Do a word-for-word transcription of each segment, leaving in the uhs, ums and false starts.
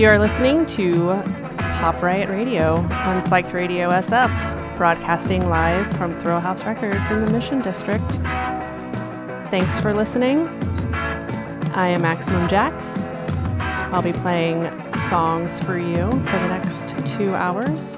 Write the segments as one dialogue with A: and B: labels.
A: You are listening to Pop Riot Radio on Psyched Radio S F, broadcasting live from Thrill House Records in the Mission District. Thanks for listening. I am Maximum Jax. I'll be playing songs for you for the next two hours.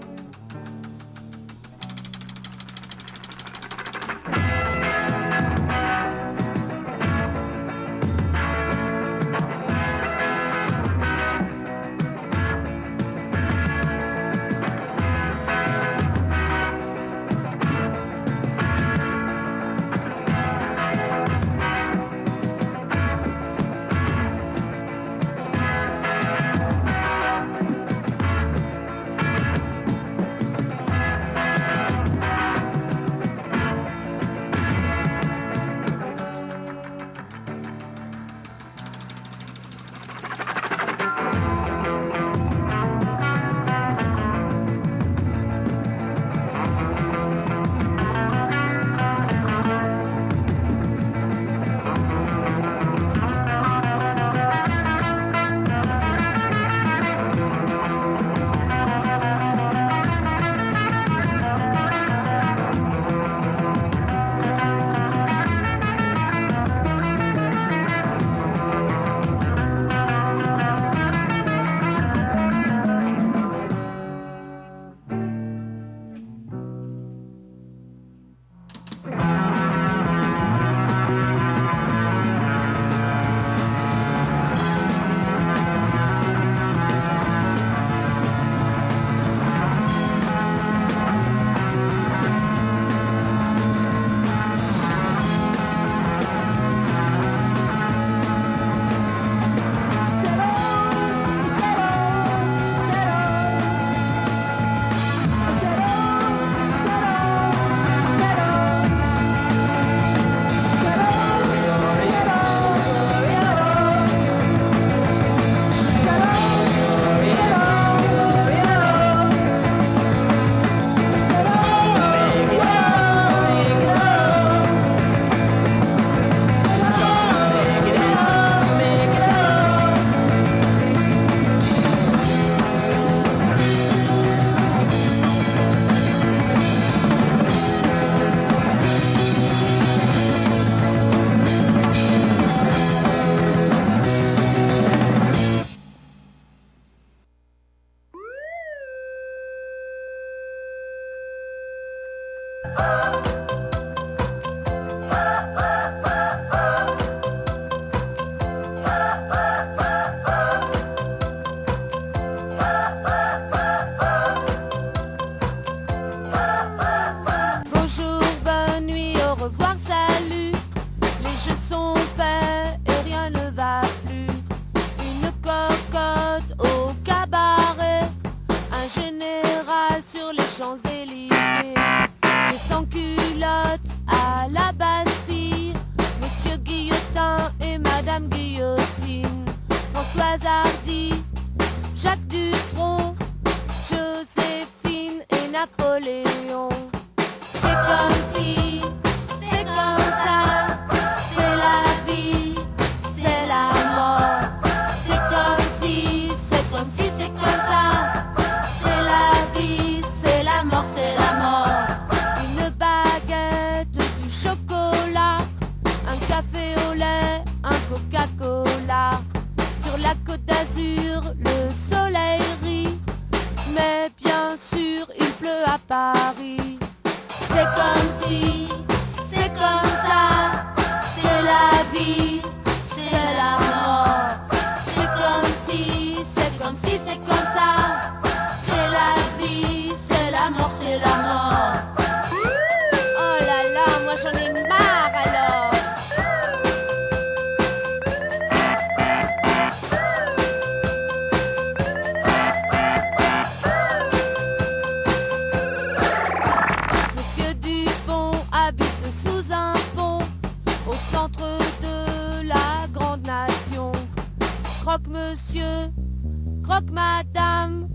B: Monsieur, croque madame,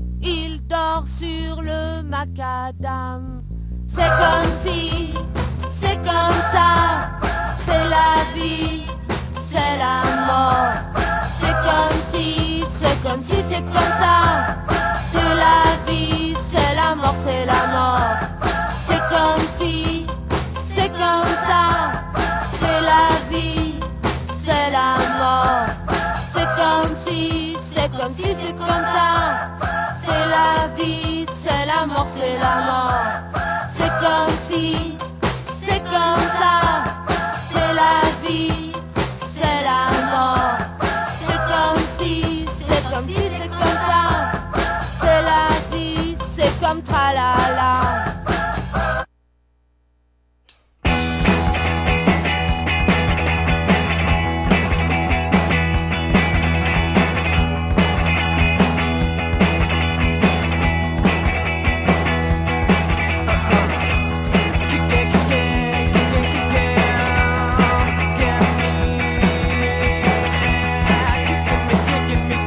B: il dort sur le macadam. C'est comme si, c'est comme ça, c'est la vie, c'est la mort. C'est comme si, c'est comme si, c'est comme ça. C'est la vie, c'est la mort, c'est la mort. C'est comme si, c'est comme ça. C'est la vie, c'est la mort. C'est comme si, c'est comme si, c'est comme ça. C'est la vie, c'est la mort, c'est la mort. C'est comme si, c'est comme ça. C'est la vie, c'est la mort. C'est comme si, c'est comme si, c'est comme ça. C'est la vie, c'est comme tralala.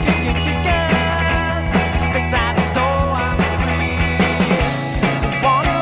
C: Wanna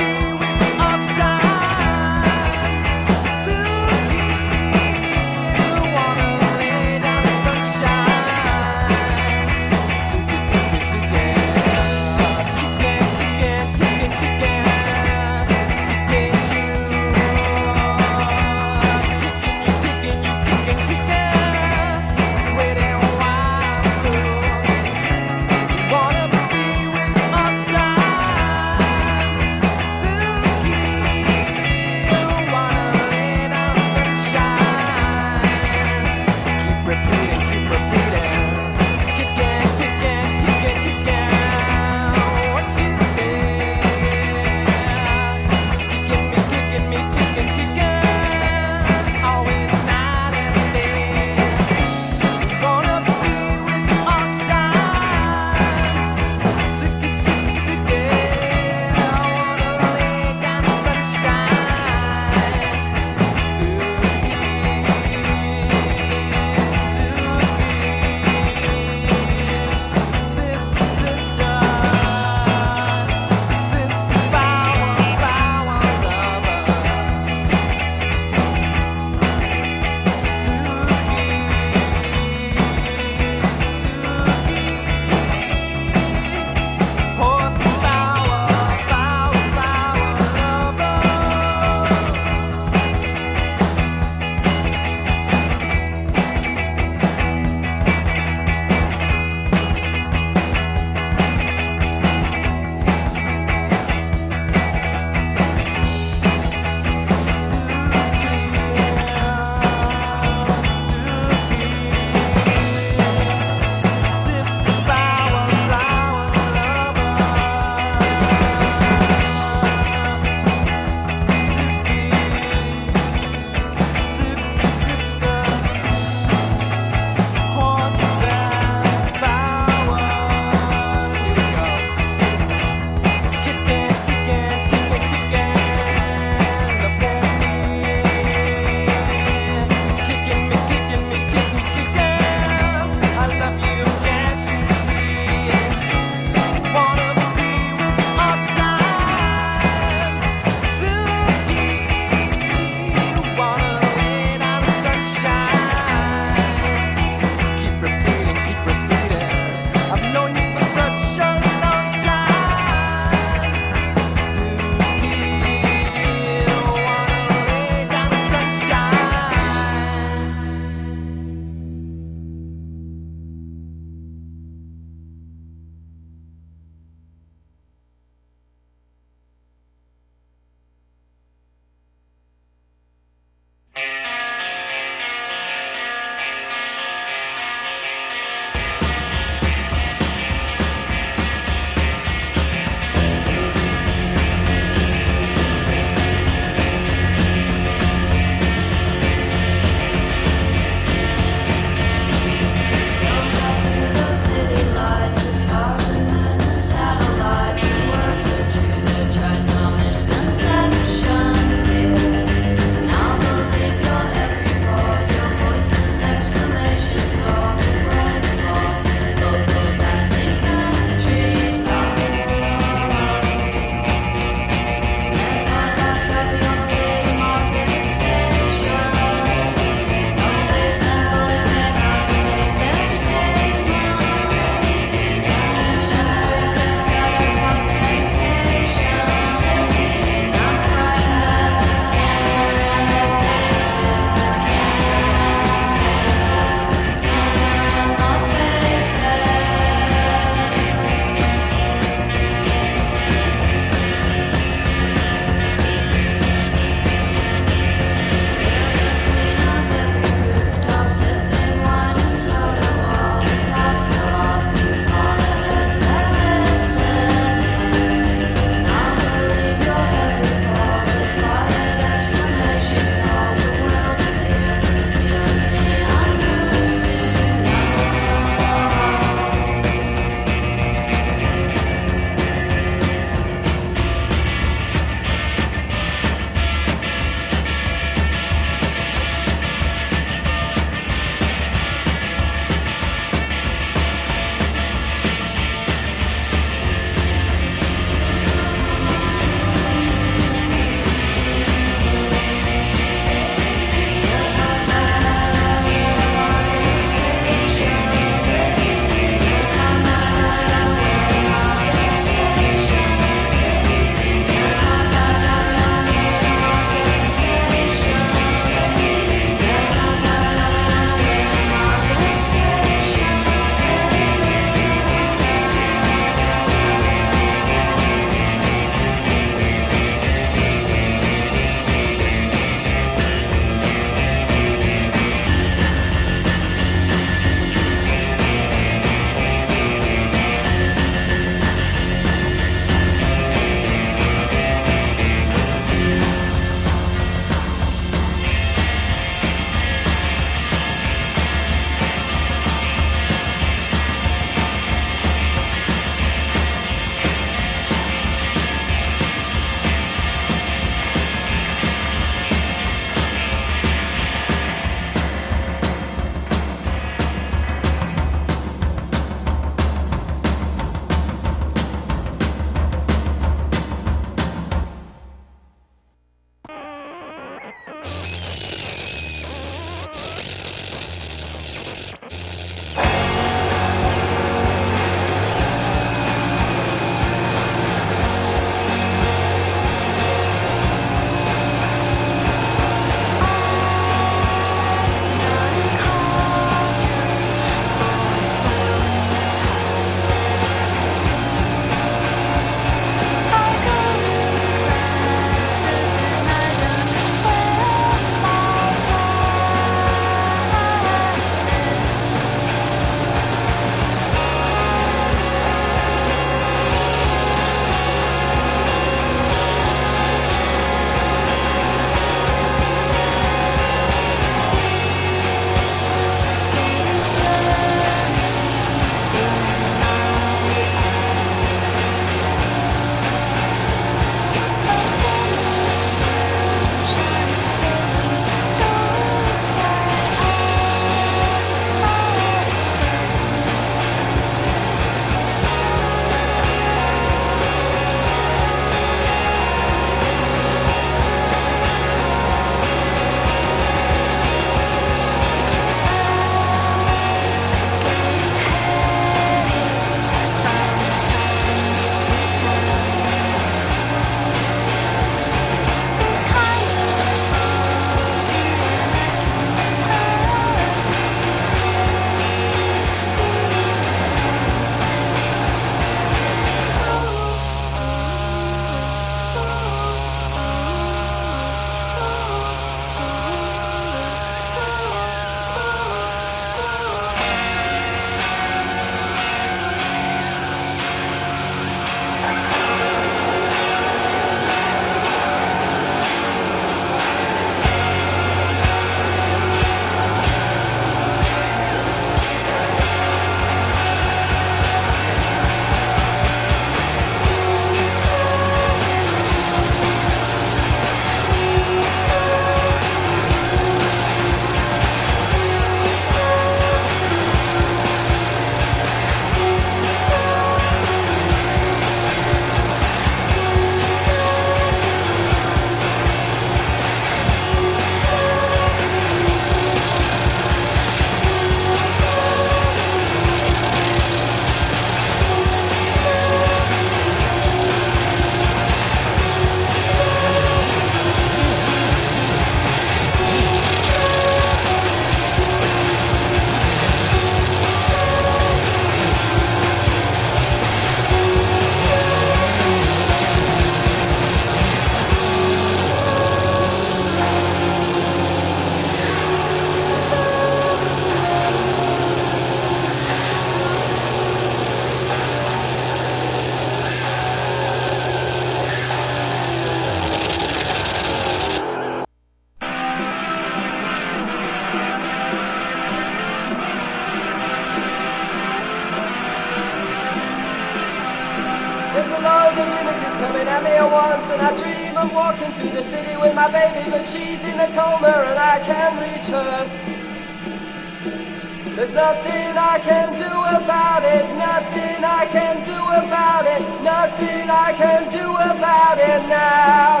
C: I'm here once and I dream of walking through the city with my baby, but she's in a coma and I can't reach her. There's nothing I can do about it, nothing I can do about it, nothing I can do about it now.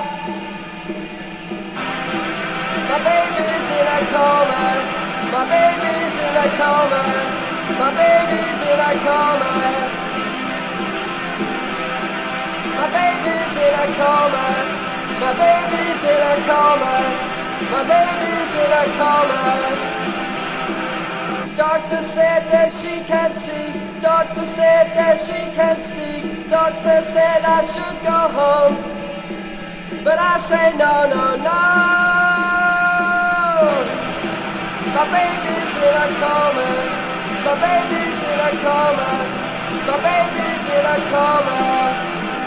C: My baby's in a coma, my baby's in a coma, my baby's in a coma. My baby's in a coma, my baby's in a coma, my baby's in a coma. Doctor said that she can't see, doctor said that she can't speak, doctor said I should go home, but I say no, no, no. My baby's in a coma, my baby's in a coma, my baby's in a coma.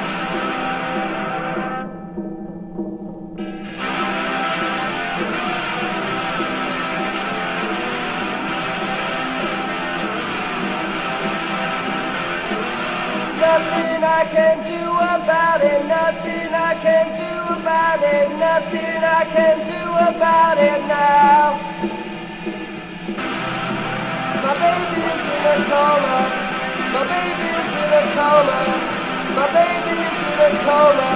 C: Nothing I can do about it, nothing I can do about it, nothing I can do about it now. My baby's in a coma, my baby's in a coma, my baby's in a coma.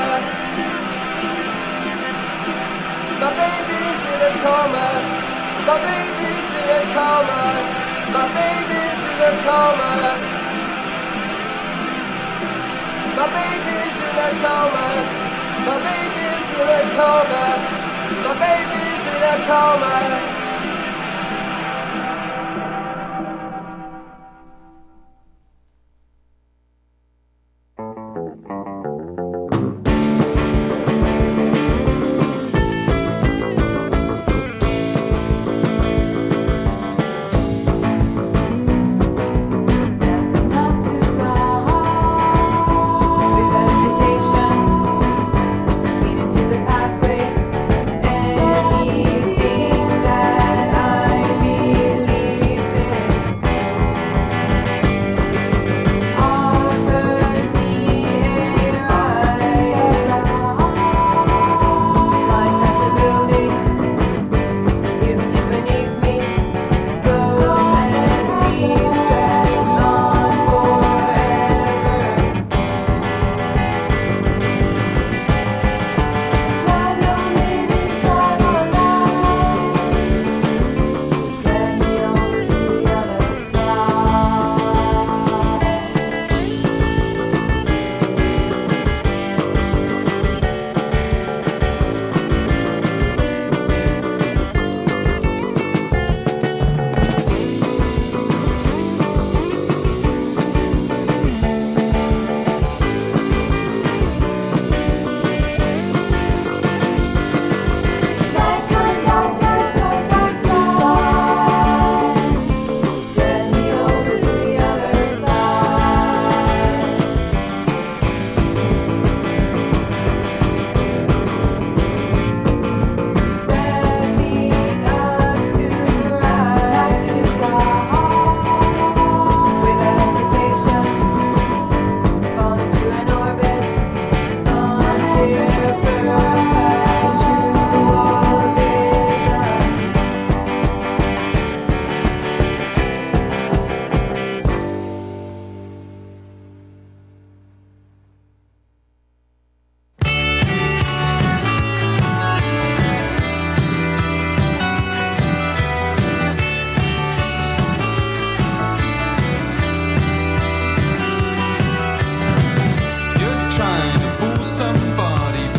C: My baby's in a coma, my baby's in a coma, my baby's in a coma. My baby's in a coma, my baby's in a coma, my baby's in a coma.
D: Somebody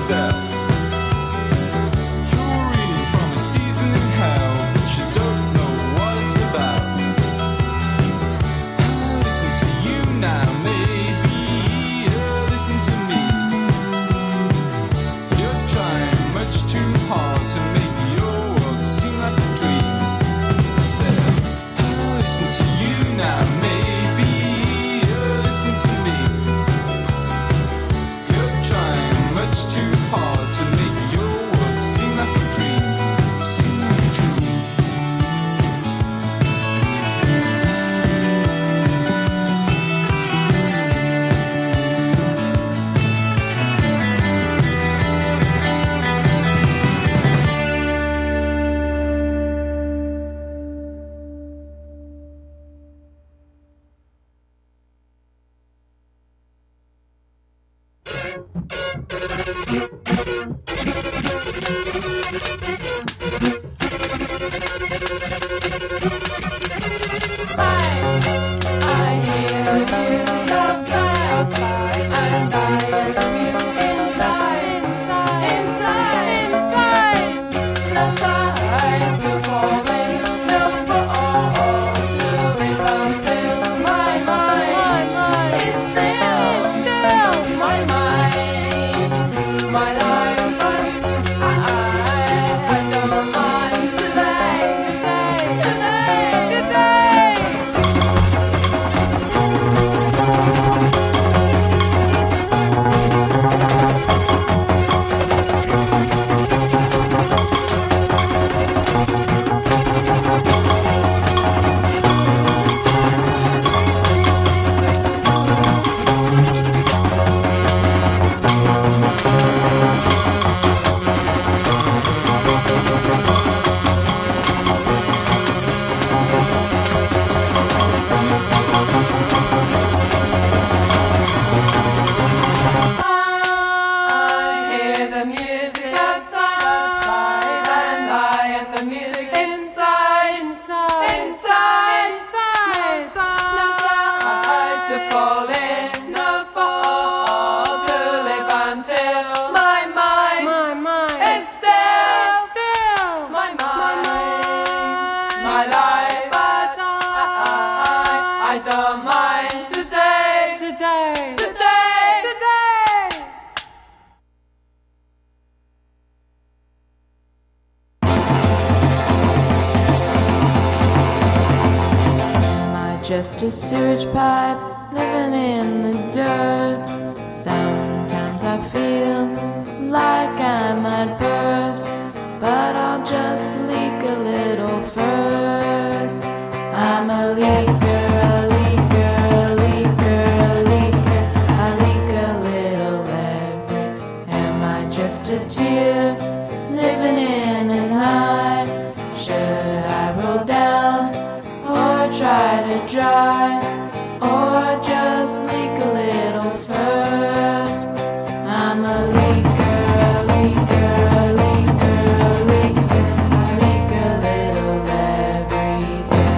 D: Just a sewage pipe living in the dirt. Sometimes I feel like I might burst, but I'll just leak a little first. I'm a leaker, a leaker, a leaker, a leaker. I leak a little every. Am I just a tear living in an eye? Should I roll down or try to dry, or just leak a little first? I'm a leaker, a leaker, a leaker, a leaker. I leak a little every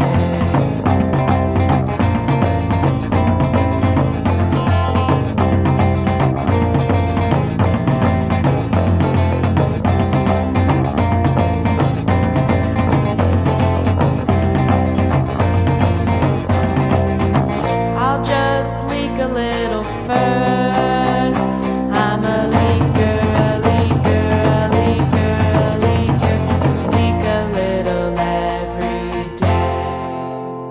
D: a little first. I'm a leaker, a leaker, a leaker, a leaker. Leak a little every day.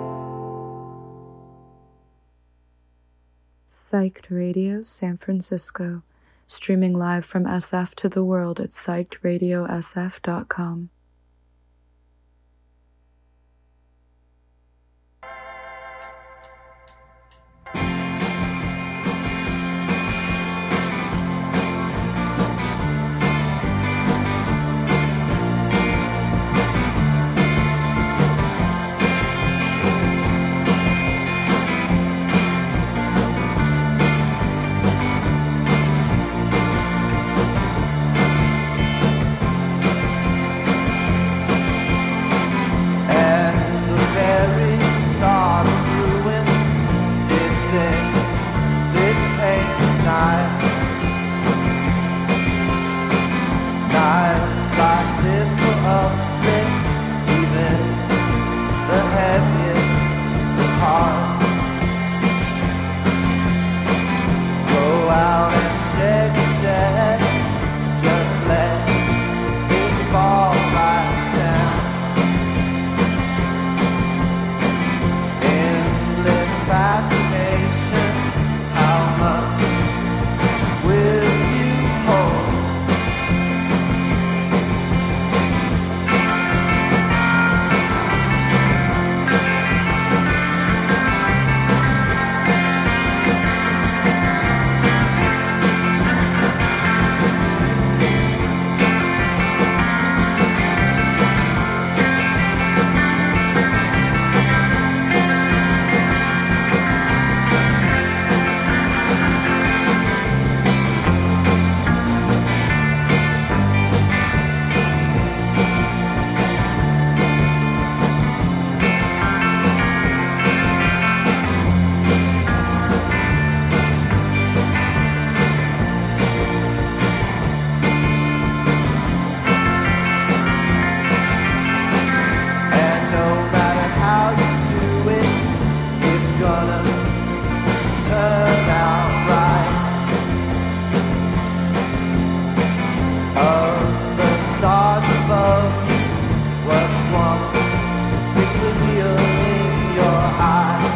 E: Psyched Radio San Francisco, streaming live from S F to the world at psyched radio s f dot com.
C: of the stars above you. What's one that sticks the needle in your eye?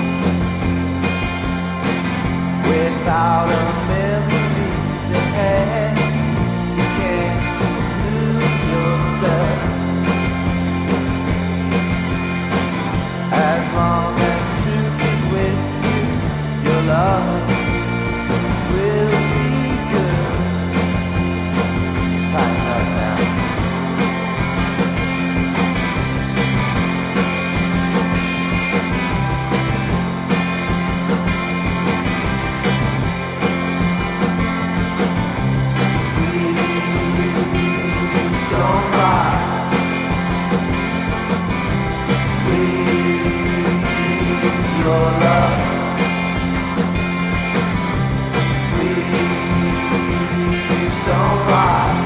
C: Without a memory that you can't lose yourself. As long as truth is with you, your love will be good. Tighten up now. Please don't lie. Please, your love. Please don't lie.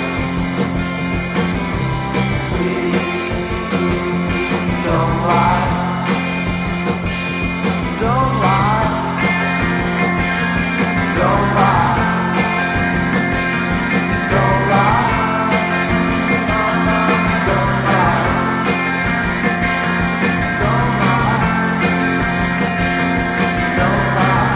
C: Please don't lie. Don't lie. Don't lie. Don't lie. Don't lie. Don't lie. Don't lie.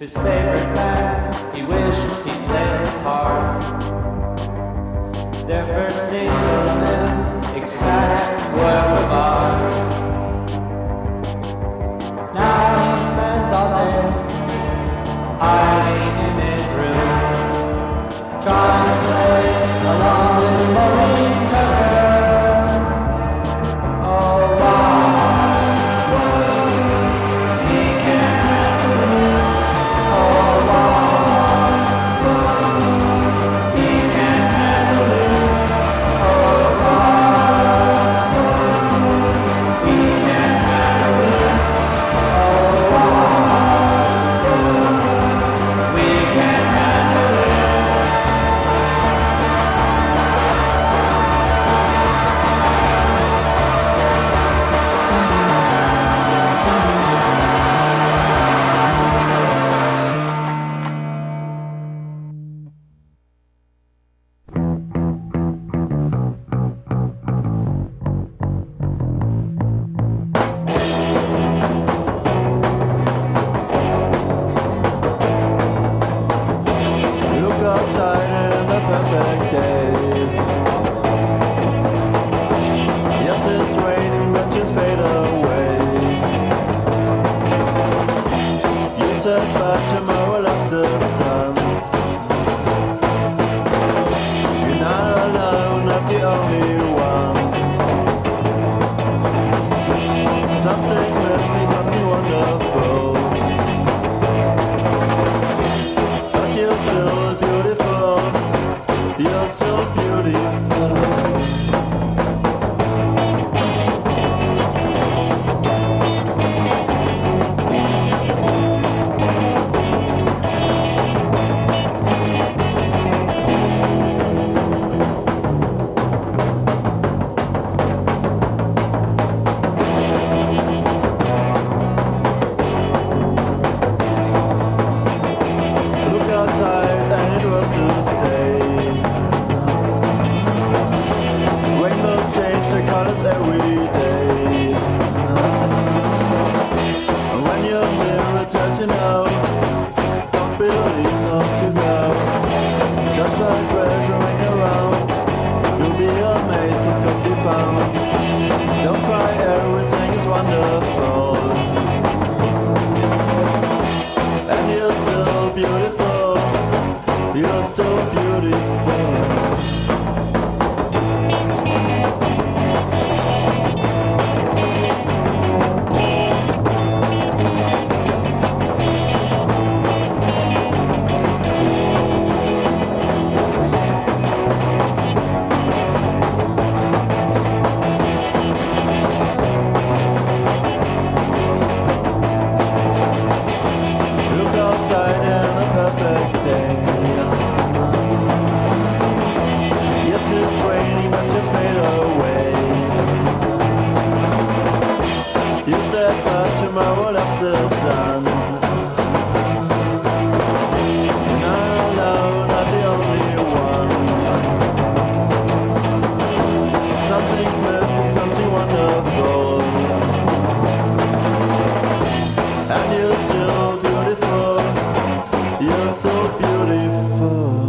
F: his favorite bands, he wished he played the part. Their first single, an ecstatic work of art. Now he spends all day hiding in his room, trying to play along with Maureen Tucker. Oh, wow, he can't handle it. Oh, wow, he can't handle it. Oh, wow, he can't handle it. Oh, wow, we can't handle it.
G: Look outside in a perfect day. Yes, it's raining, but just fade away. You search back tomorrow, lost the sun. You're not alone, not the only one. Something's messy, something wonderful. But you're still beautiful. You're still beautiful. Look outside and it was to stay. Rainbows change their colors every day. And when your mirror tells you no, don't believe not to go. Just like treasuring around, you'll be amazed what could be found. Don't cry, everything is wonderful. And you're still beautiful. You're still beautiful. Look outside in a perfect day. Yes, it's raining, but just fade away. You said that tomorrow lost the sun. You're not alone, not the only one. Something's missing, something wonderful. And you're still beautiful. You're so beautiful.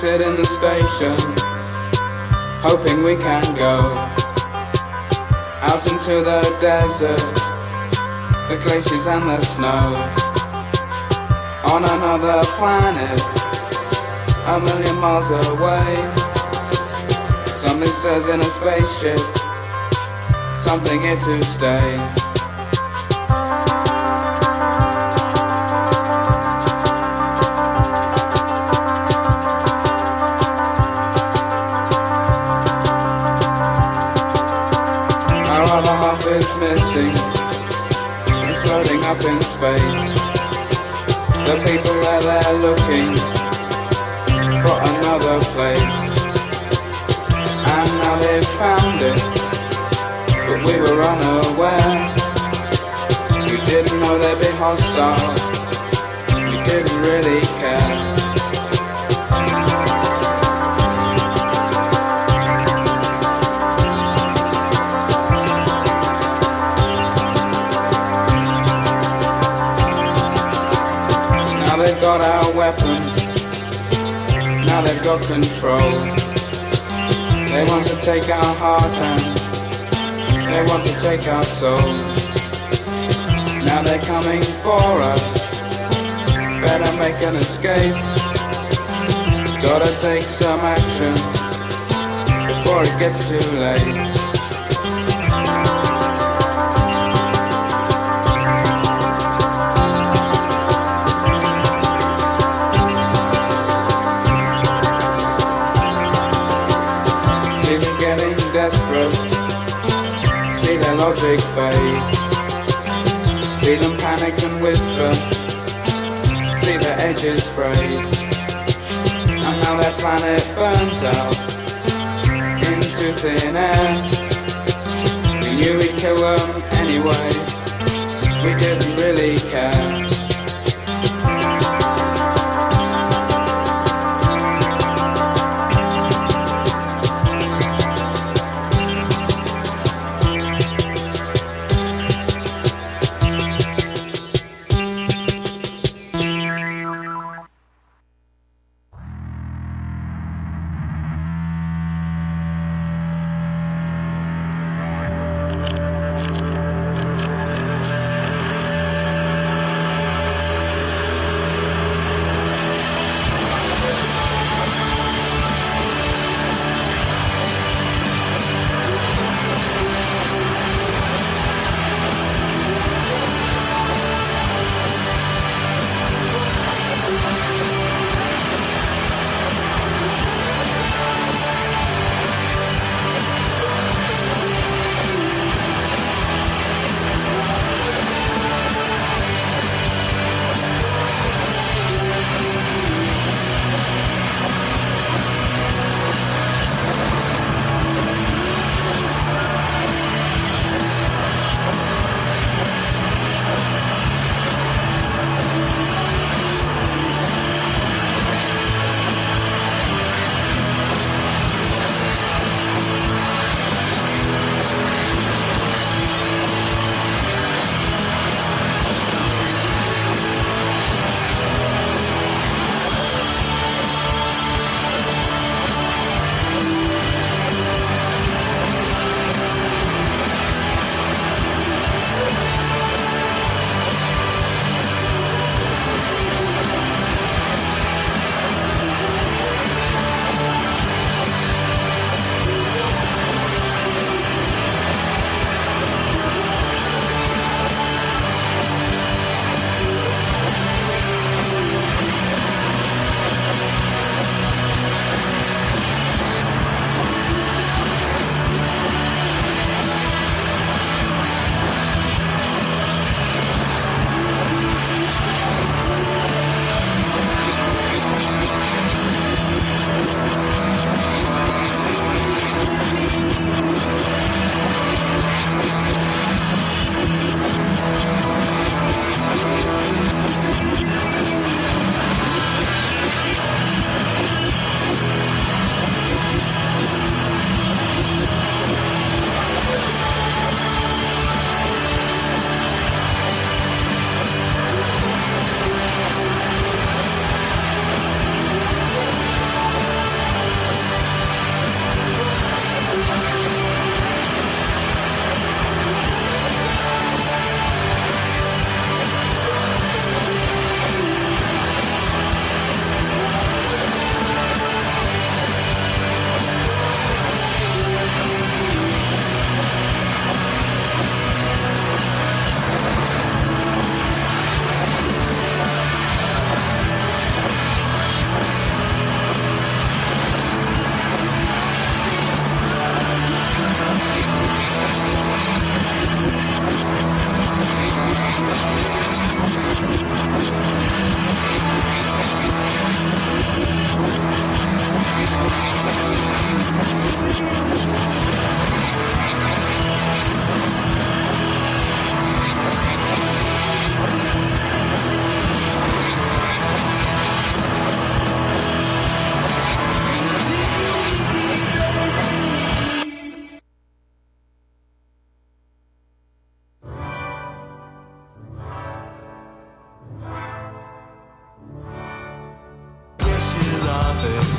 H: sit in the station, hoping we can go out into the desert, the glaciers and the snow, on another planet, a million miles away. Something stirs in a spaceship, something here to stay. Our other half is missing, it's floating up in space. The people are there looking for another place, and now they've found it, but we were unaware. We didn't know they'd be hostile, we didn't really care. Now they've got our weapons, now they've got control. They want to take our heart and they want to take our souls. Now they're coming for us, better make an escape. Gotta take some action before it gets too late. See their logic fade, see them panic and whisper, see their edges frayed, and now their planet burns out into thin air. We knew we'd kill them anyway, we didn't really care.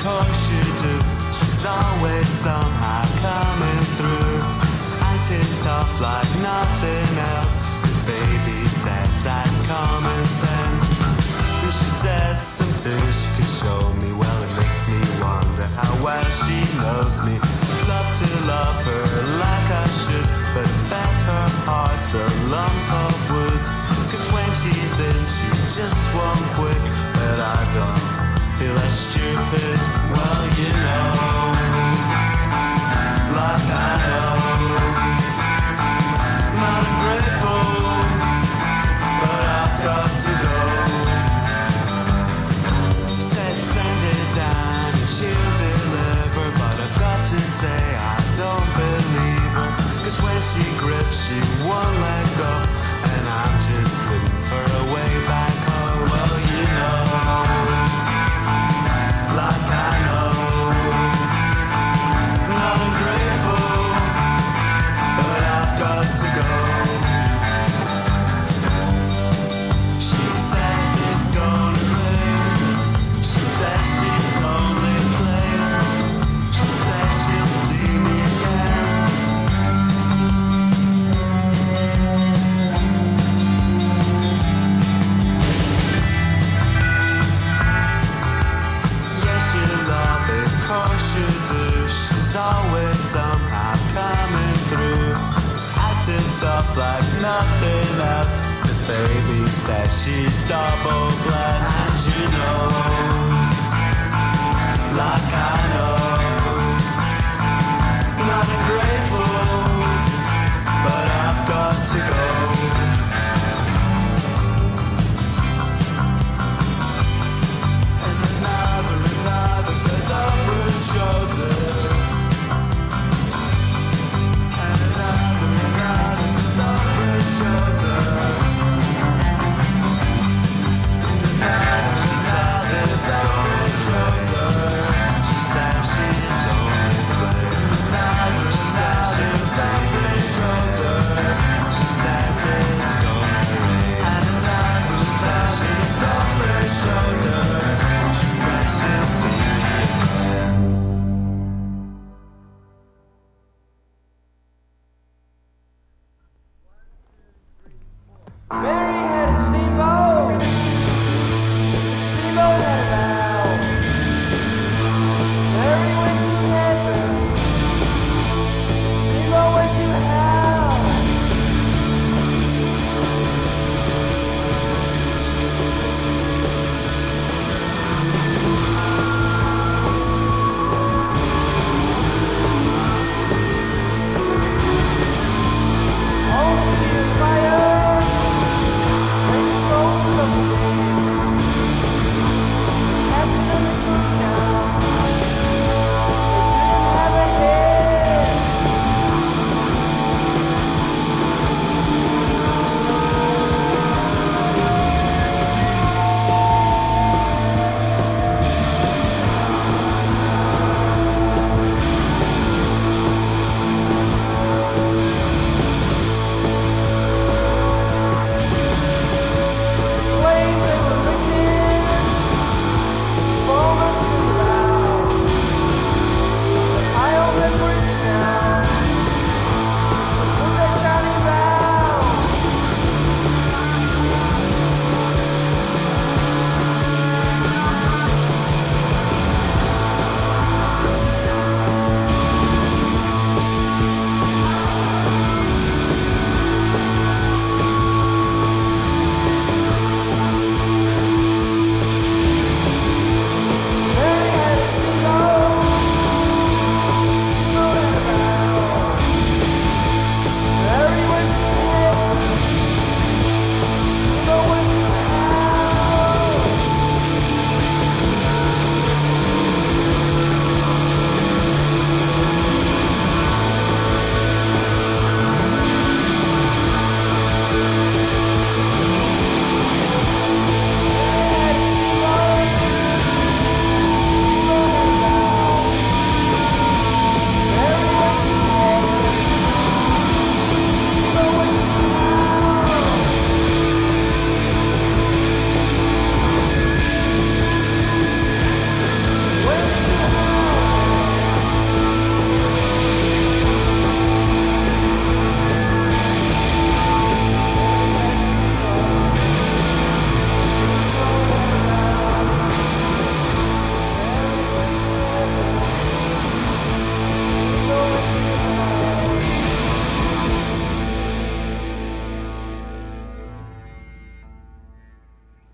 I: course you do. She's always somehow coming through, acting tough like nothing else. This baby says that's common sense. And she says something she can show me. Well, it makes me wonder how well she knows me. I'd love to love her like I should, but I bet her heart's a lump of wood. Cause when she's in, she's just one quick. But I don't feel as stupid. Well, you know, like I know, not ungrateful, but I've got to go. Said send it down and she'll deliver, but I've got to say I don't believe her. Cause when she grips she won't let go, and I'm just looking for a way back home. Well, you know, like I know, not ungrateful, but I've got to go. She says it's gonna rain. She says she's only playing. She says she'll see me again. Yes, you love it, course you do. She's always somehow coming through, acting tough like nothing else. This baby says she's double blessed. And you know, like I know, not ungrateful, but I've got to go. And another, another goes over his shoulder. And another, another goes over his shoulder. And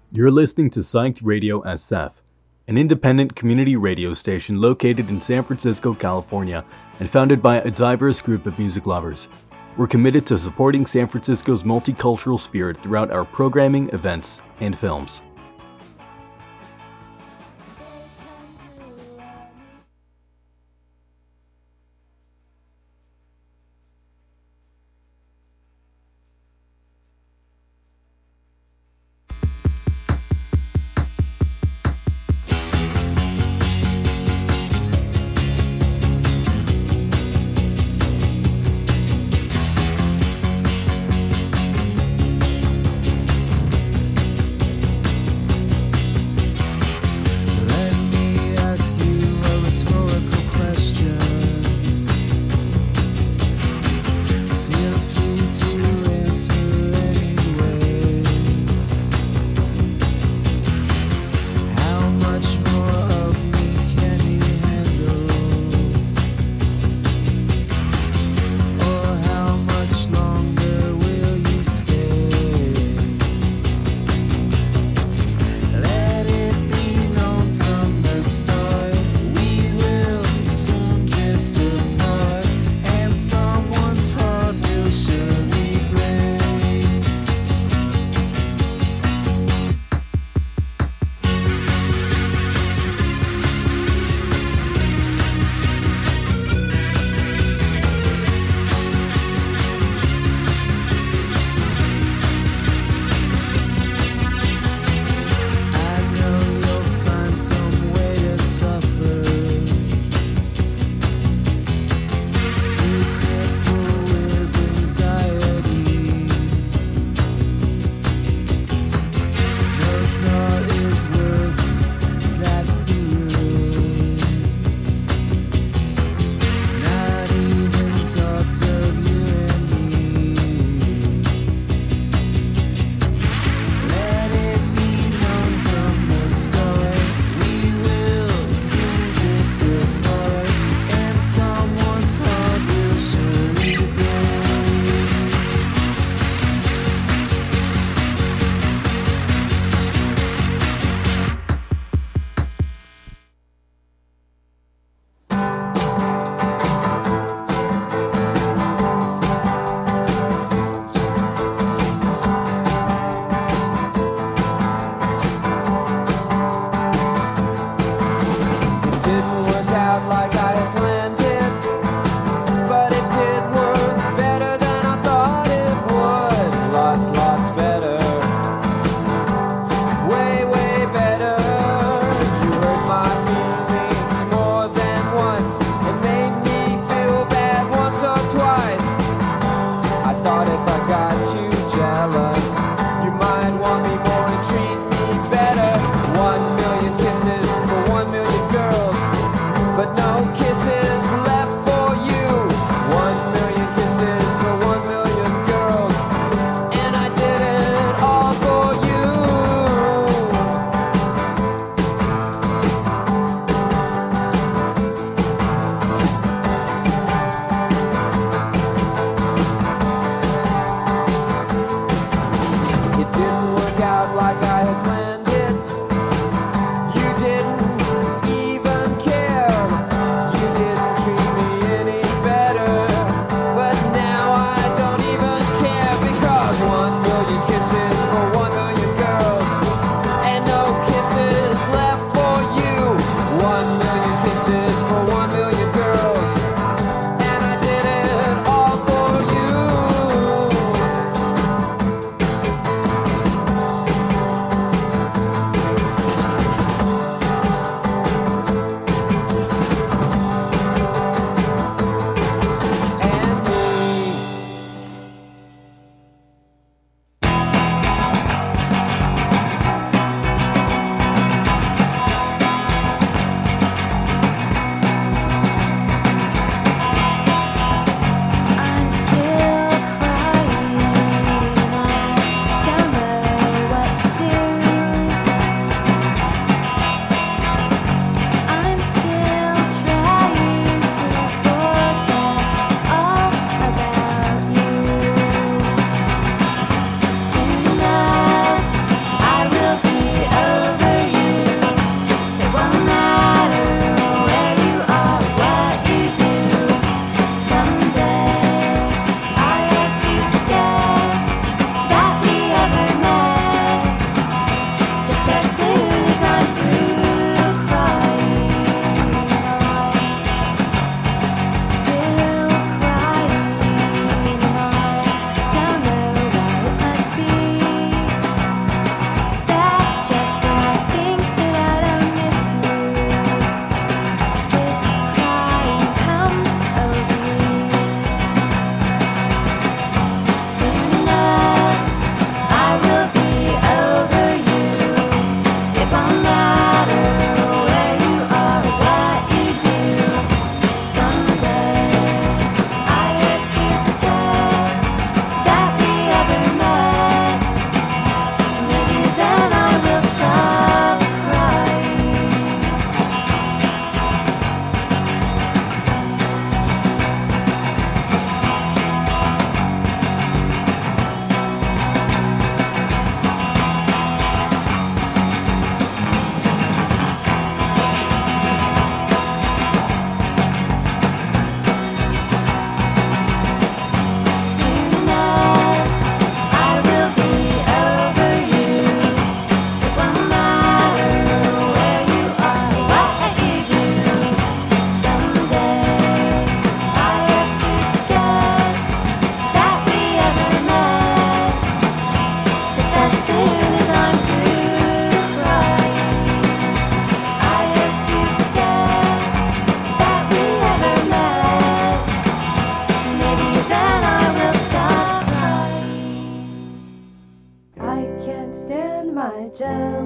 J: You're listening to Psyched Radio S F, an independent community radio station located in San Francisco, California, and founded by a diverse group of music lovers. We're committed to supporting San Francisco's multicultural spirit throughout our programming, events, and films.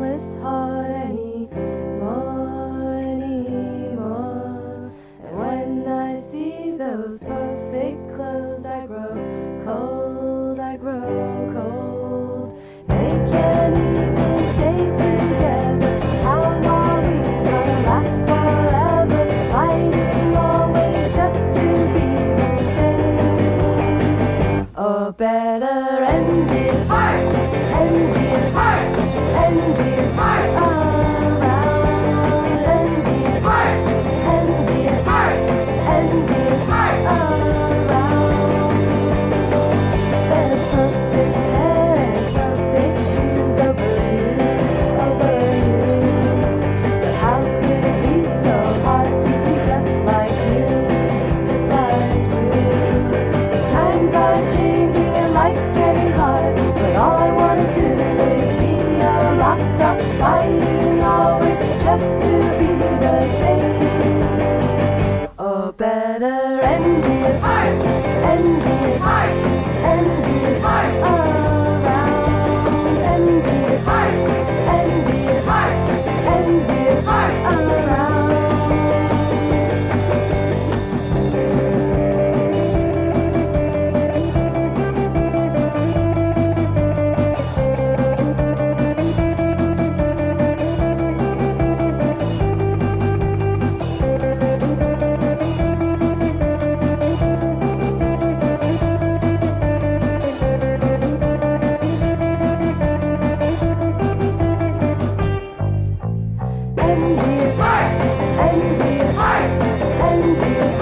K: jealous heart anymore, anymore. And when I see those perfect clothes, I grow cold, I grow cold. They can't even stay together. How are we gonna last forever? Fighting always just to be the same. Or better envious, envious, envious, around, envious, envious, envious, around. There's perfect hair and perfect shoes over you, over you. So how could it be so hard to be just like you, just like you? The times are changing and life's getting hard, but all I wanna do is be a rock star, fighting always just to be the same. Or better envious, envious, envious, around, envious, envious, envious, around. Envious, envious, envious,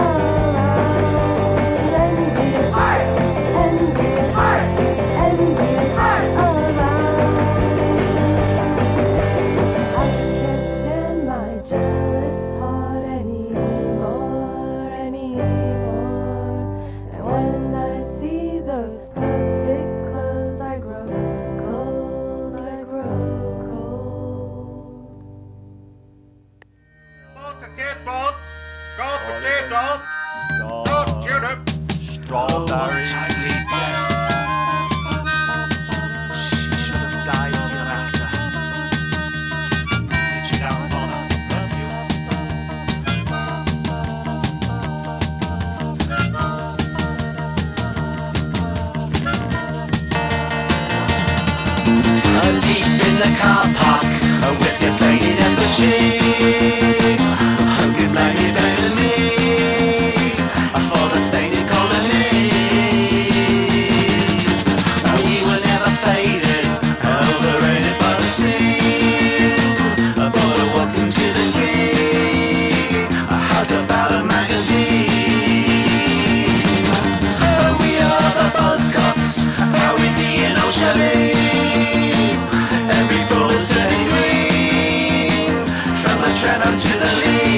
K: around, envious, envious, envious, around. I can't stand my jealous heart anymore, anymore. And when I see those perfect clothes, I grow cold, I grow cold.
L: Potato, go potato, go tulip,
I: Strawberry. Tightly breath. She should have died hereafter. She don't bother. Bless you. Uh, deep in the car park, uh, with your faded effigy. Who can blame you better than me? Uh, for the stained colonies. Uh, we were never faded, uh, overrated by the sea. Uh, but a welcome to the king. Uh, how's about a magazine? Uh, we are the Buzzcocks, how we be in Ocean. Every bullet's turning green, from the Treno to the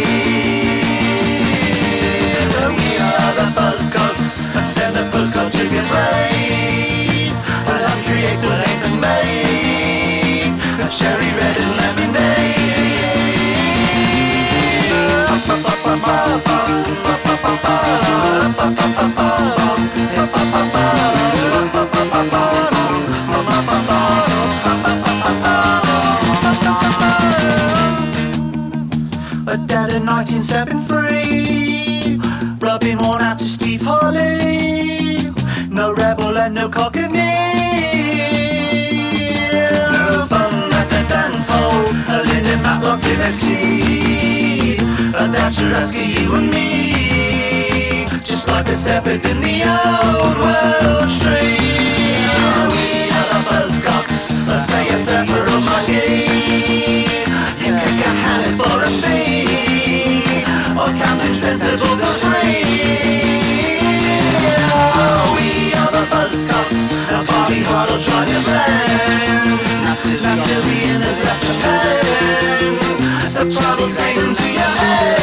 I: lead. We are the Buzzcocks, send a postcard to your brain. I'll create what ain't been made, a cherry red and lemonade. A dad in nineteen seventy-three, rubbing one out to Steve Harley. No rebel and no cockney. No fun at the dance hall, a Linda Matlock liberty. A Thatcher asking you and me, just like the shepherd in the old world tree. We are the Buzzcocks, let's say a prayer for a monkey. You can get handed for a fee, or Captain Sensible for free. We are the Buzzcocks, a Bobby Hart will drive your van. Now Sylvian has left Japan, so troubles came into your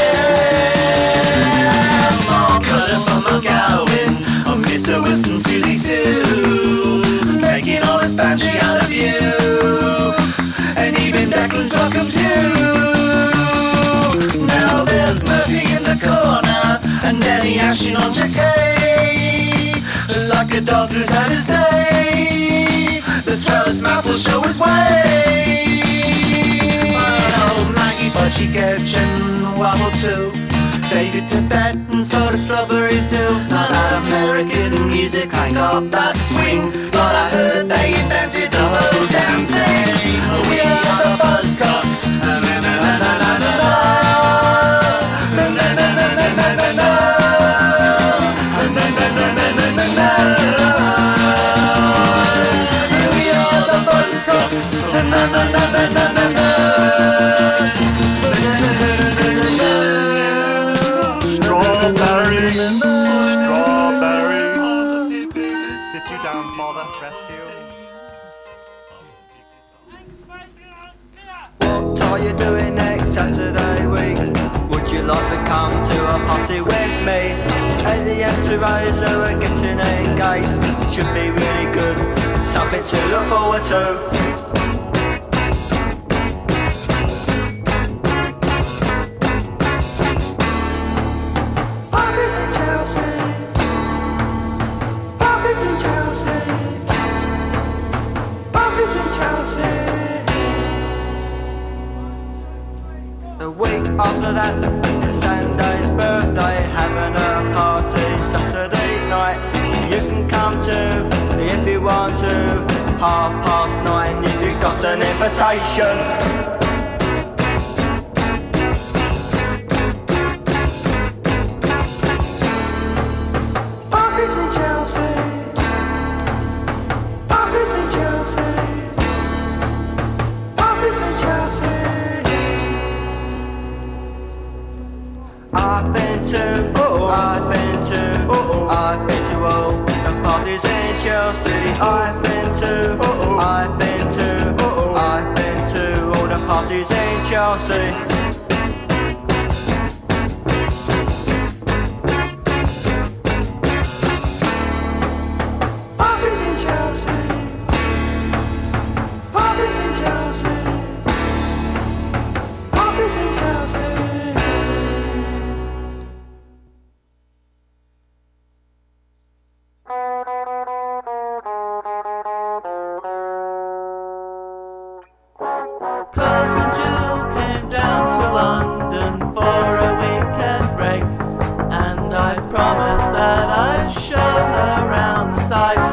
I: hand. Mark Cutter from McGowan, or Mister Wilson, Susie Sue, making all this banshee out of you. And even Declan's welcome too. Now there's Murphy in the corner, and Danny ashing on Jackie. Just like a dog who's had his day, the swellest mouth will show his way. church and wobble too. David Tibetan sold a strawberry zoo. Now that American music ain't got that swing, but I heard they invented the whole damn thing. We are the Buzzcocks. Na na na na na na na. Na na na na na na na na. Na na na na na na na. We are the Buzzcocks. Na na na na na na na.
G: Strawberry, strawberry. Sit you down, father. Rest you.
M: What are you doing next Saturday week? Would you like to come to a party with me? And the entourage who are getting engaged should be really good, something to look forward to. After that, Sunday's birthday, having a party Saturday night. You can come to, if you want to, half past nine if you got an invitation. Parties in Chelsea, parties in Chelsea, parties in Chelsea. I've been to, oh, I've been to, oh, I've been to all the parties in Chelsea. I've been to, oh, I've been to, oh, I've been to all the parties in Chelsea. Parties in Chelsea, parties in Chelsea, parties in Chelsea.
I: Cousin Jill came down to London for a weekend break, and I promised that I'd show her around the sights.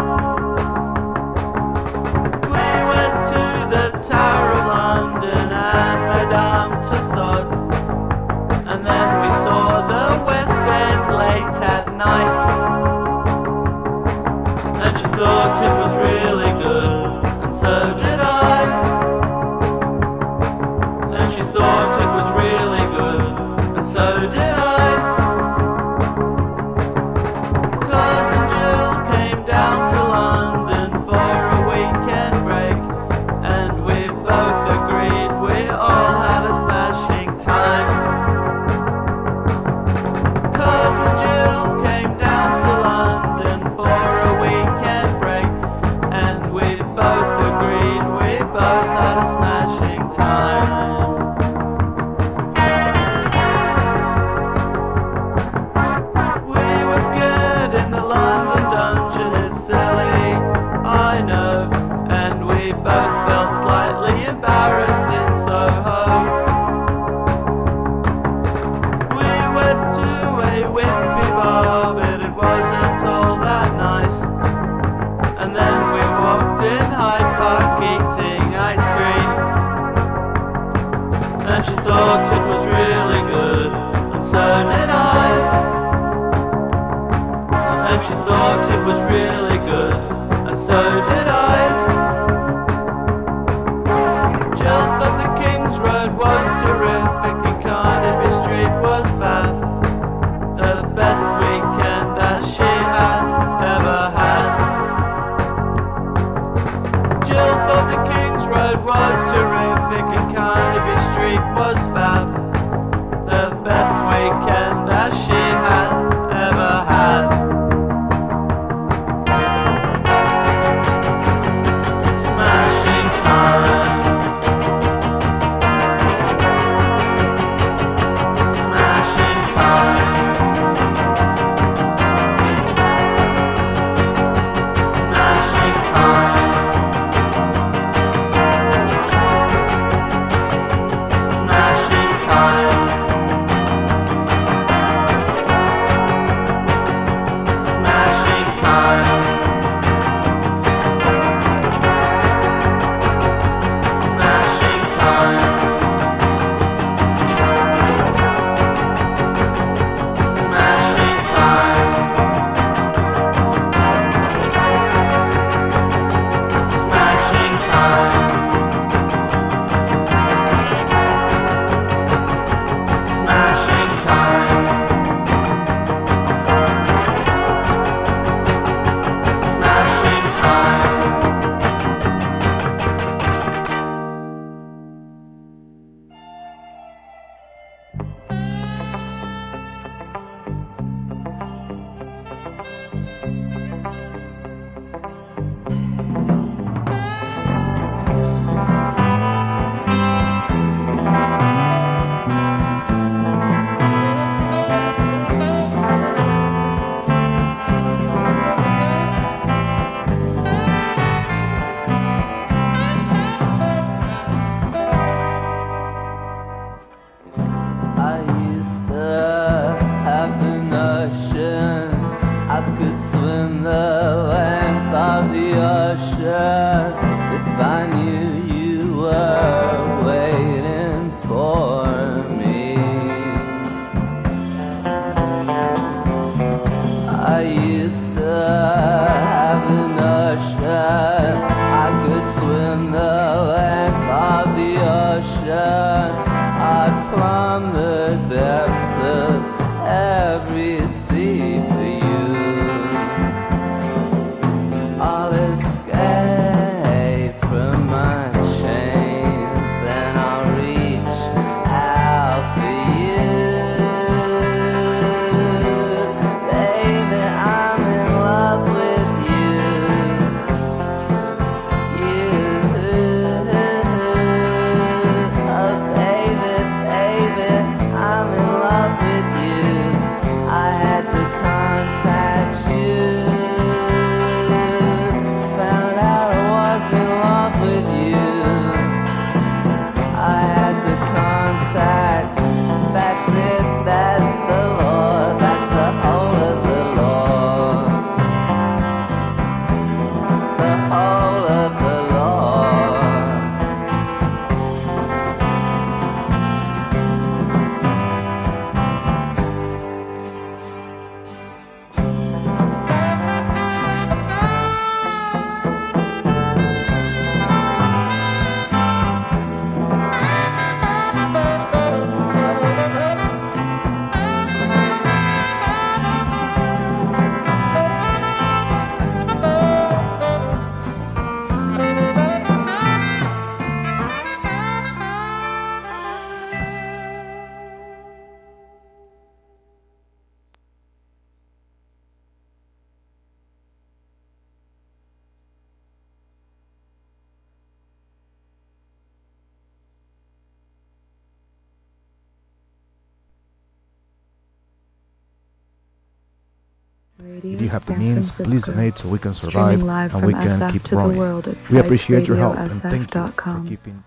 I: We went to the Tower of London and Madame Tussauds, and then we saw the West End late at night, and she thought it was really good, and so did I. Thought it was really good, and so did I. Cousin Jill came down to London for a weekend break, and we both agreed we all had a smashing time. Cousin Jill came down to London for a weekend break, and we both agreed we both had a smashing time. And she thought it was really good, and so did I. And she thought it was really good, and so did I. Jill thought the King's Road was terrific and Carnaby Street was fab, the best weekend that she had ever had. Jill thought the King's Road was terrific and Carnaby Street was fab, the best weekend that she had ever had. Smashing time, smashing time, smashing time. Smashing
N: ocean. I'd plumb the depths of every sea for you. I'll escape from my chains and I'll reach out for you. Baby, I'm in love with you. You, oh baby, baby, I'm in love with you. I had to contact you. Found out I was in love with you. I had to contact. That's it, that's the law. That's the whole of the law. The whole of the law.
E: Radio
O: If you have the
E: San
O: means, please
E: Francisco.
O: donate so we can
E: Streaming
O: survive
E: live
O: and
E: from
O: we can
E: S F
O: keep
E: to the
O: growing.
E: world at
O: We appreciate your help and
E: psych radio
O: thank
E: s f
O: you
E: dot com.
O: for keeping.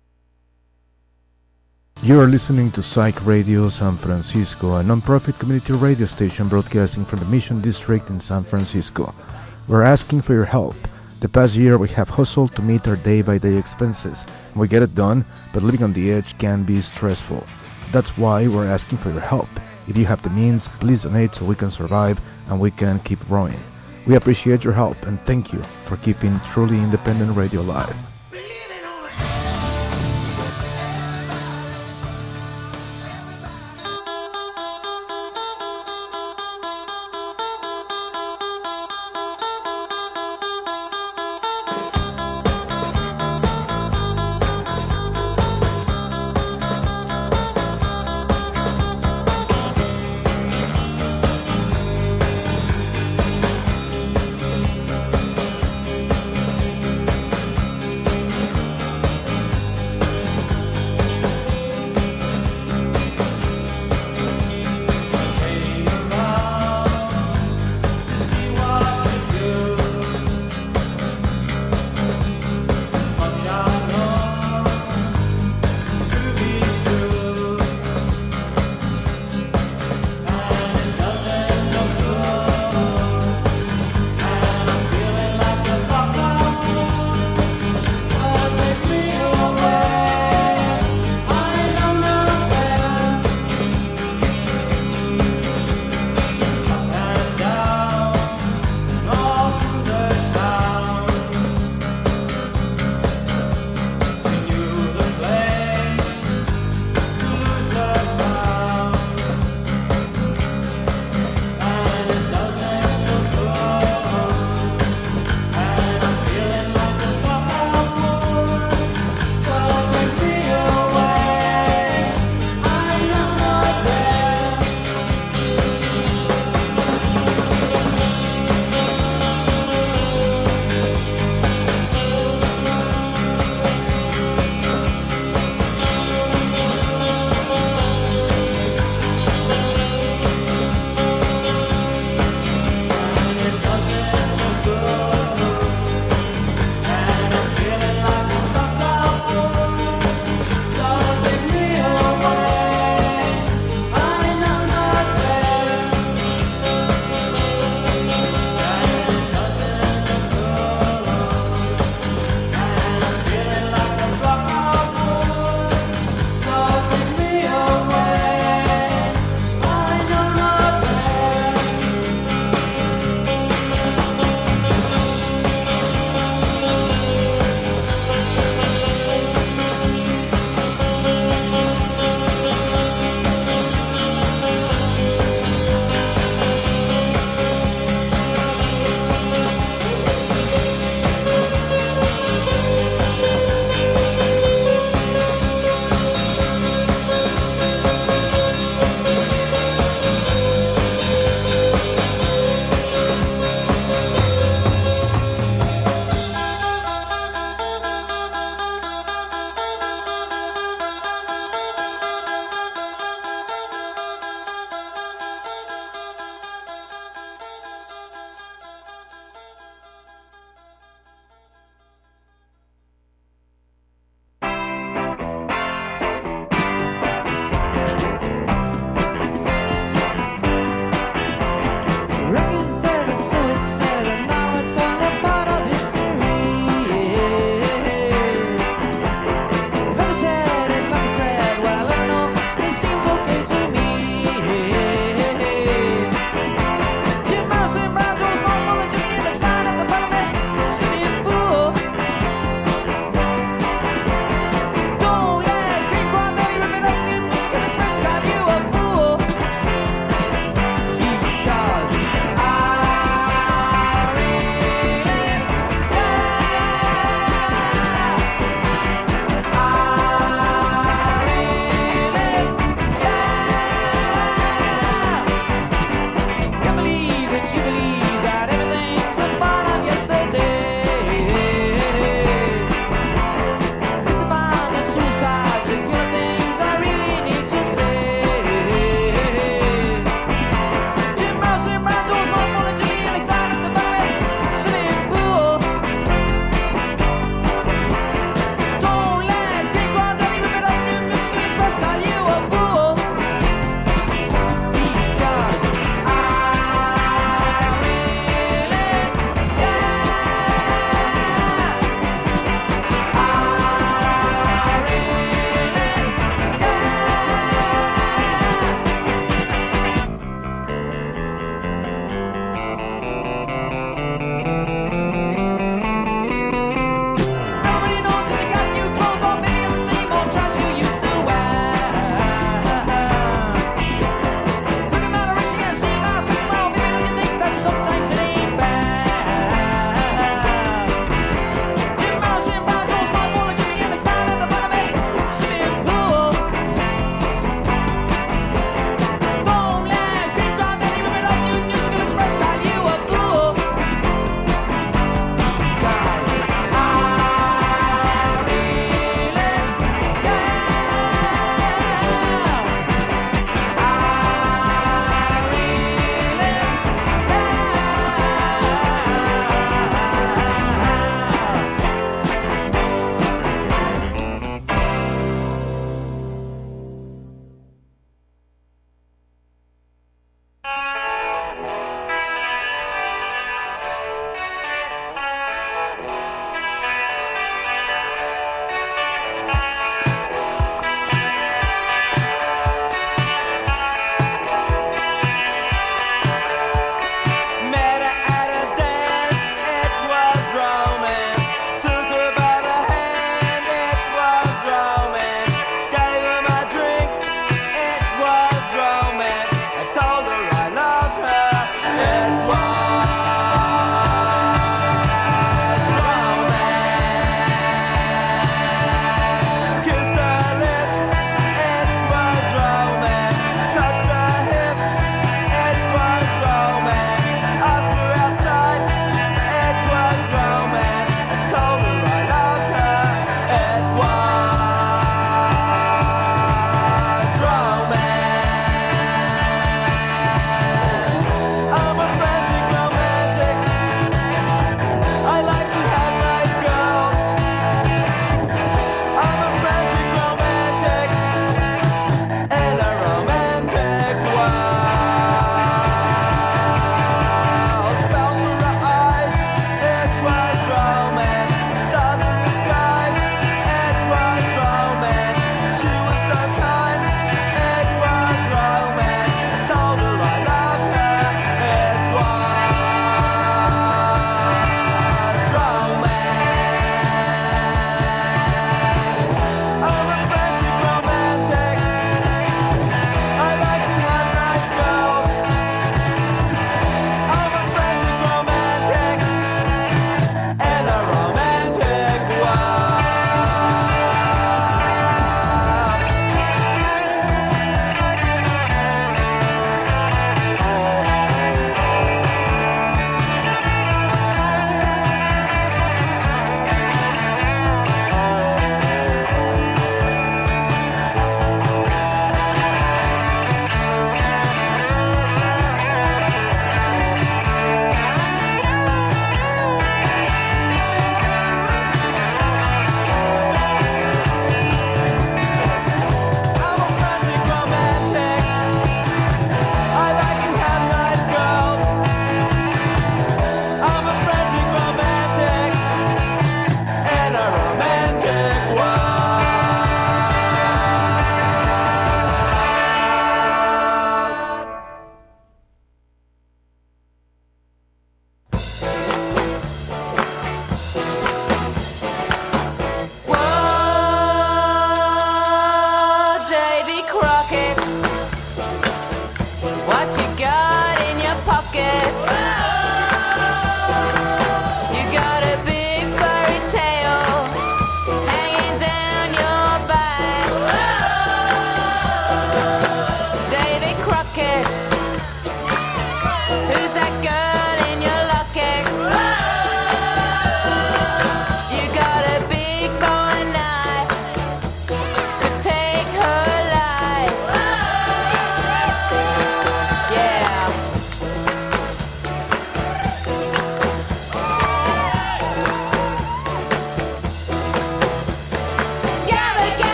O: You are listening to Psych Radio San Francisco, a non-profit community radio station broadcasting from the Mission District in San Francisco. We're asking for your help. The past year we have hustled to meet our day-by-day expenses. We get it done, but living on the edge can be stressful. That's why we're asking for your help. If you have the means, please donate so we can survive and we can keep growing. We appreciate your help and thank you for keeping truly independent radio alive.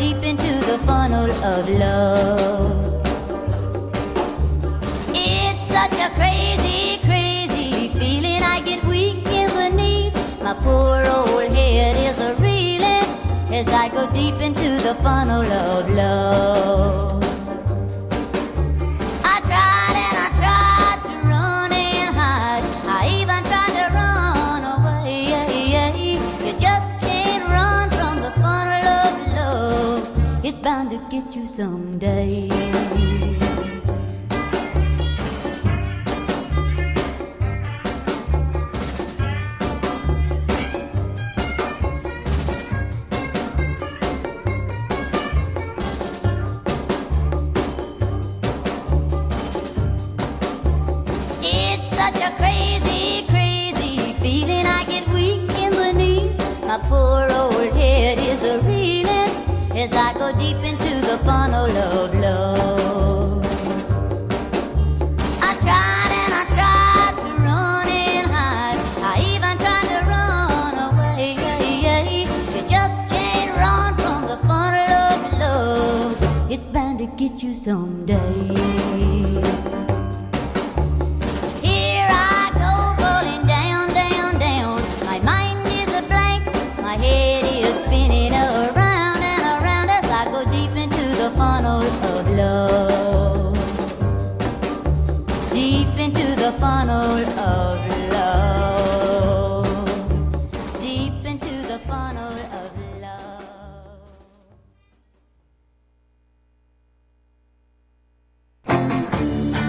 P: deep into the funnel of love. It's such a crazy, crazy feeling. I get weak in the knees. My poor old head is a reeling as I go deep into the funnel of love. I tried and I tried to run and hide. I even tried to run away. You just can't run from the funnel of love. It's bound to get you someday. My poor old head is a reeling as I go deep into the funnel of love. I tried and I tried to run and hide. I even tried to run away. You just can't run from the funnel of love. It's bound to get you someday. My head is spinning around and around as I go deep into the funnel of love. Deep into the funnel of love. Deep into the funnel of love.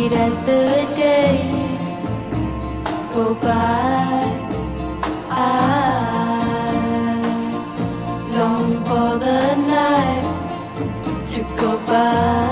D: sweet as the days go by. I long for the nights to go by.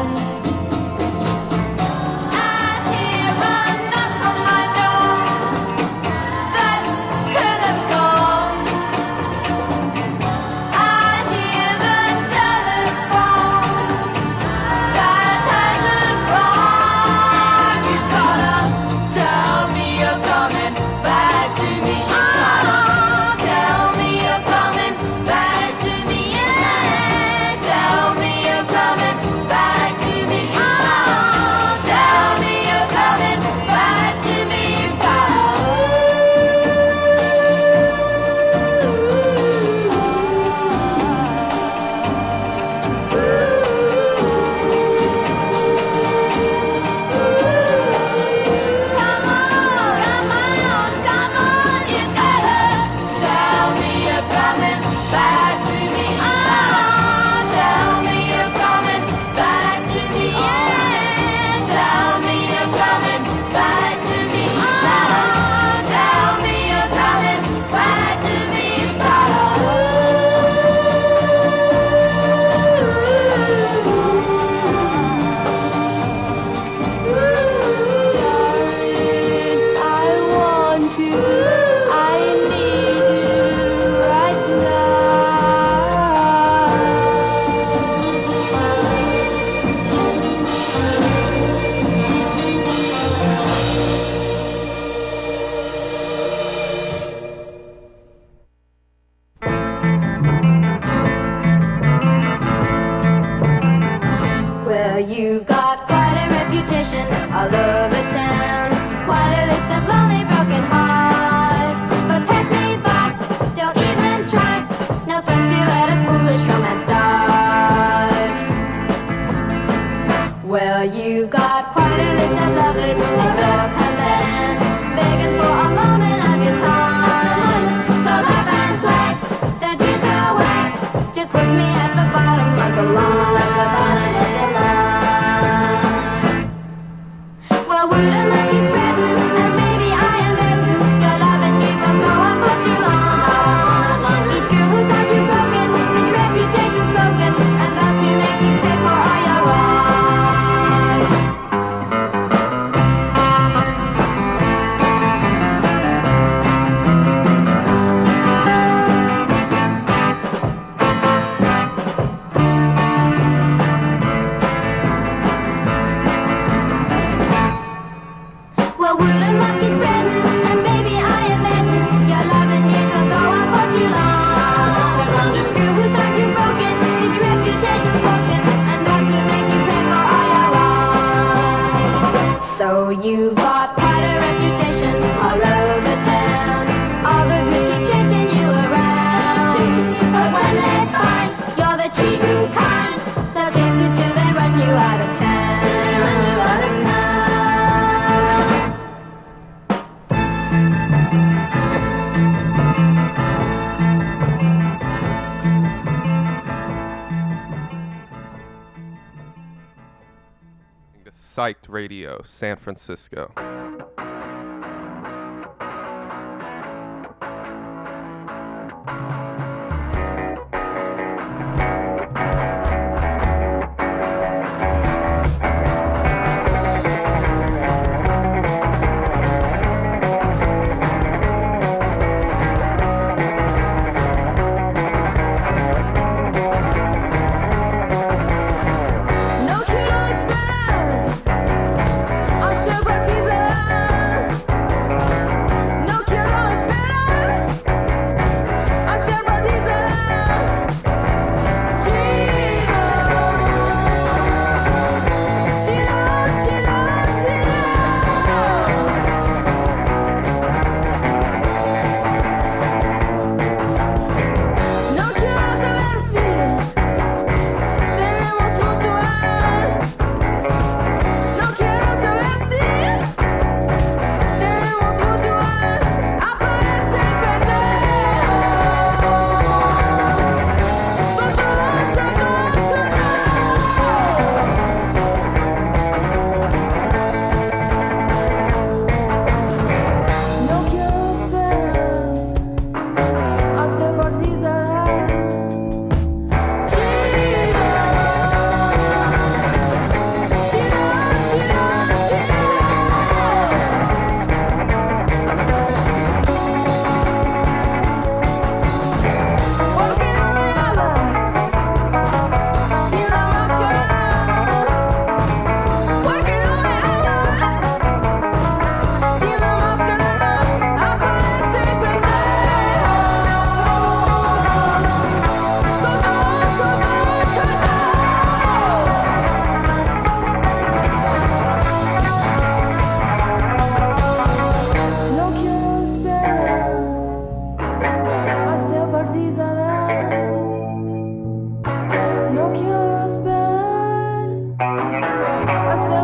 Q: Psyched Radio, San Francisco.
D: No quiero esperar a ser partida.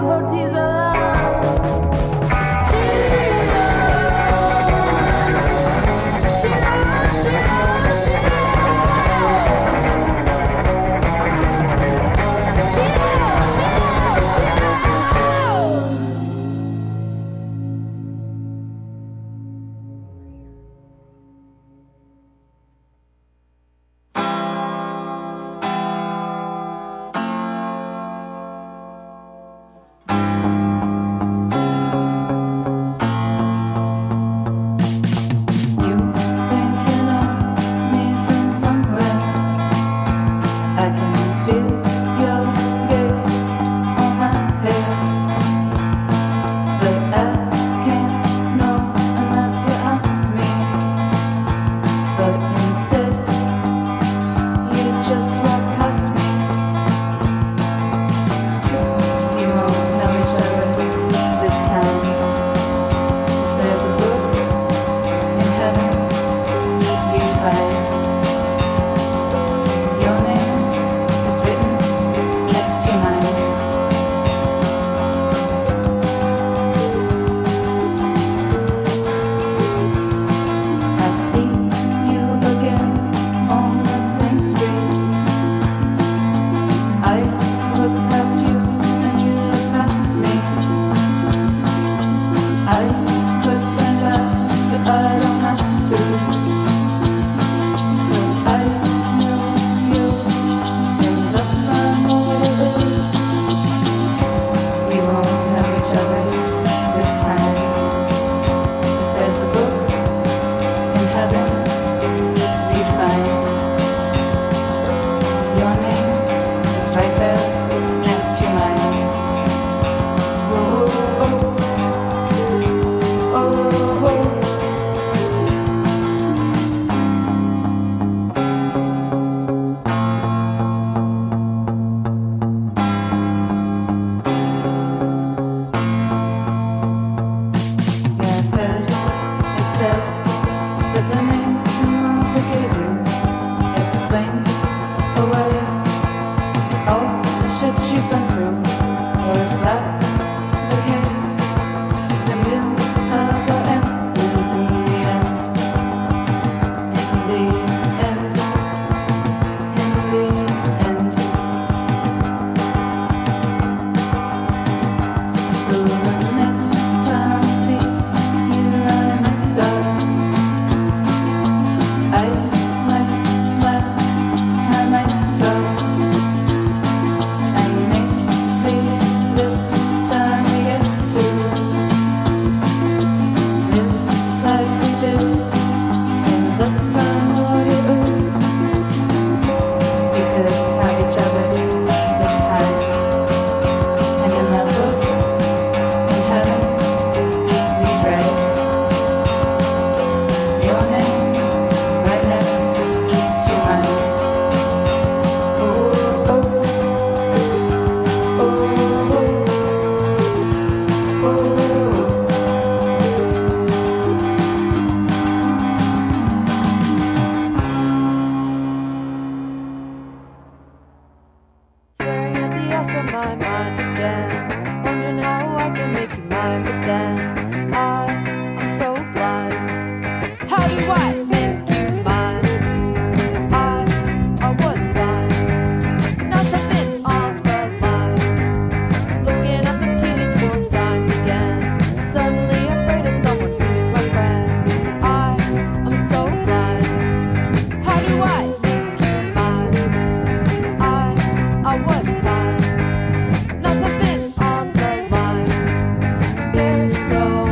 D: So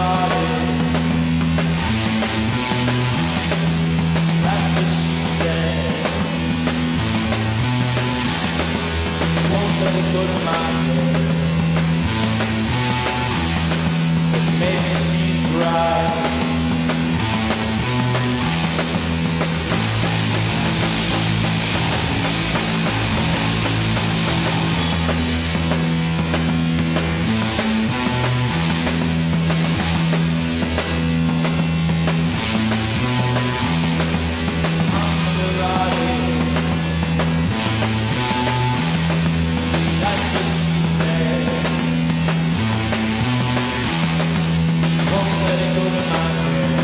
F: That's what she says. Won't let it go to my head. But maybe she's right. That's what she says. Won't let it go to my head.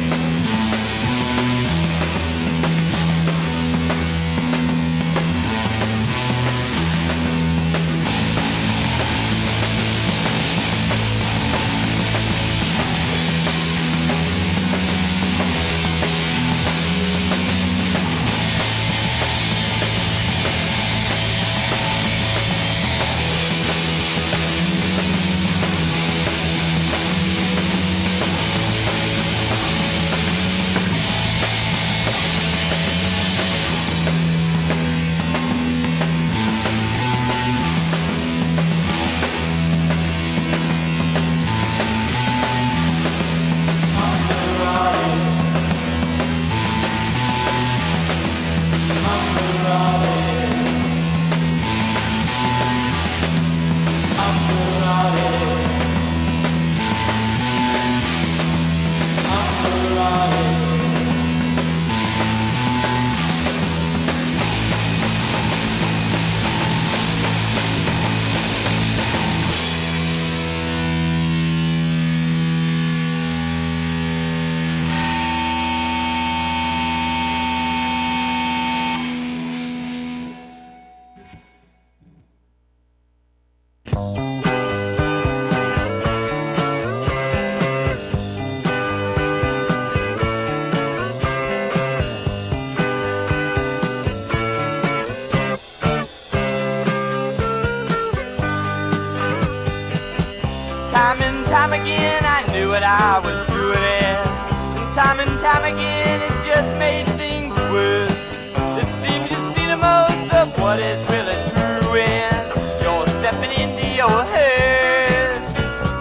R: Time and time again I knew what I was doing, and time and time again it just made things worse. It seems you see the most of what is really true when you're stepping into your hearse.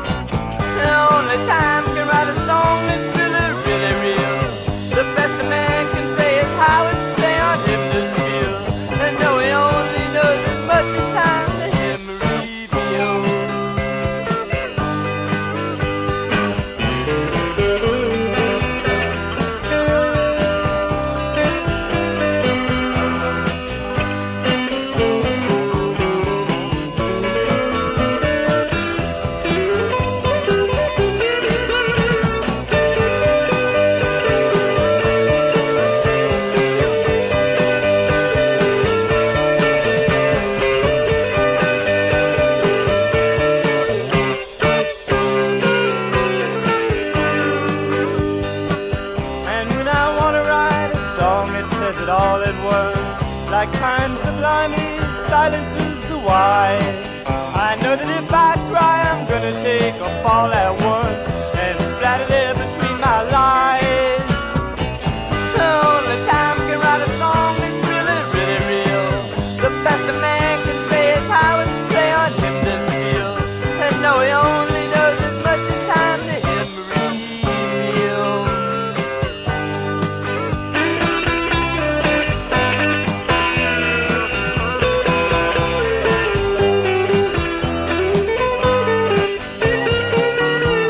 R: And only time can write a song that's really, really real. The best a man can say is how it's playing on him to feel. And no, he only knows as much as time to him reveals. Like time sublimely silences the wise. I know that if I try, I'm gonna take a fall at once.